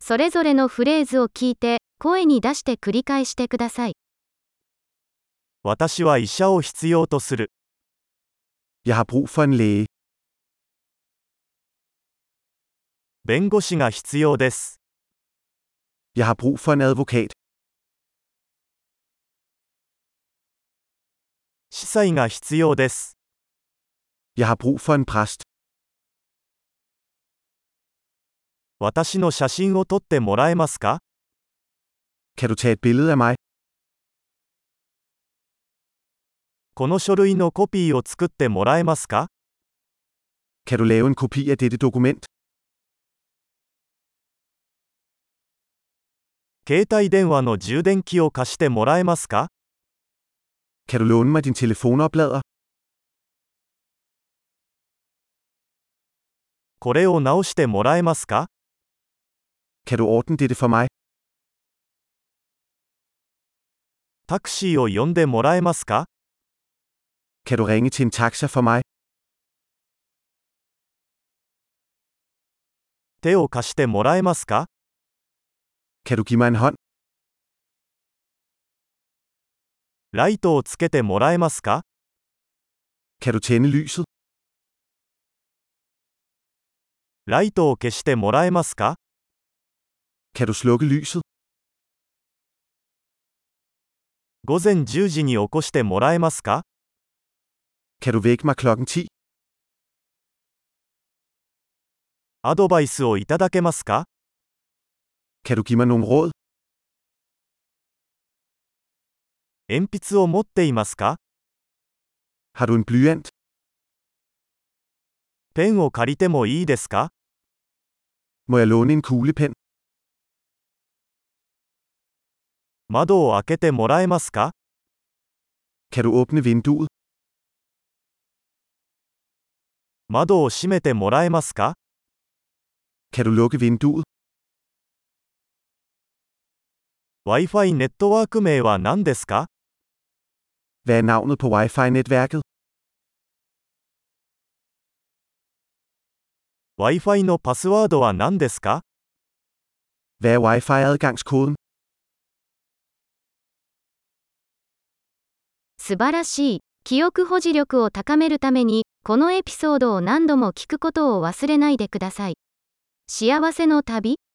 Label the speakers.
Speaker 1: それぞれのフレーズを聞いて、声に出して繰り返してください。
Speaker 2: 私は医者を必要とする。
Speaker 3: Jeg har brug for en læge.
Speaker 2: 弁護士が必要です。
Speaker 3: Jeg har brug for en advokat.
Speaker 2: 司祭が必要です。
Speaker 3: Jeg har brug for en præst.
Speaker 2: 私の写真を撮ってもらえますか？
Speaker 3: Kan du tage et billede af mig?
Speaker 2: この書類のコピーを作ってもらえますか？
Speaker 3: Kan du lave en kopi af dette dokument?
Speaker 2: 携帯電話の充電器を貸してもらえますか？
Speaker 3: Kan du låne mig din telefonoplader?
Speaker 2: これを直してもらえますか？
Speaker 3: Kan du ordne dette for mig?
Speaker 2: タクシーを呼んでもらえますか？
Speaker 3: Kan du ringe til en taxa for mig?
Speaker 2: 手を貸してもらえますか？
Speaker 3: Kan du give mig en hånd?
Speaker 2: ライトをつけてもらえますか？
Speaker 3: Kan du tænde lyset?
Speaker 2: ライトを消してもらえますか？
Speaker 3: Kan du slukke lyset?
Speaker 2: 午前10時に起こしてもらえますか？
Speaker 3: Kan du vække mig klokken 10?
Speaker 2: アドバイスをいただけますか？
Speaker 3: Kan du give mig nogle råd?
Speaker 2: 鉛筆を持っていますか？
Speaker 3: Har du en blyant?
Speaker 2: ペンを借りてもいいですか？
Speaker 3: Må jeg låne en kuglepen?
Speaker 2: 窓を開けてもらえますか？
Speaker 3: Kan du åbne vinduet?
Speaker 2: 窓を閉めてもらえますか？
Speaker 3: Kan du lukke vinduet?
Speaker 2: Wi-Fi ネットワーク名は何ですか？
Speaker 3: Hvad er navnet på Wi-Fi-netværket?
Speaker 2: Wi-Fi のパスワードは何ですか？
Speaker 3: Hvad er Wi-Fi-adgangskoden?
Speaker 1: 素晴らしい。記憶保持力を高めるために、このエピソードを何度も聞くことを忘れないでください。幸せの旅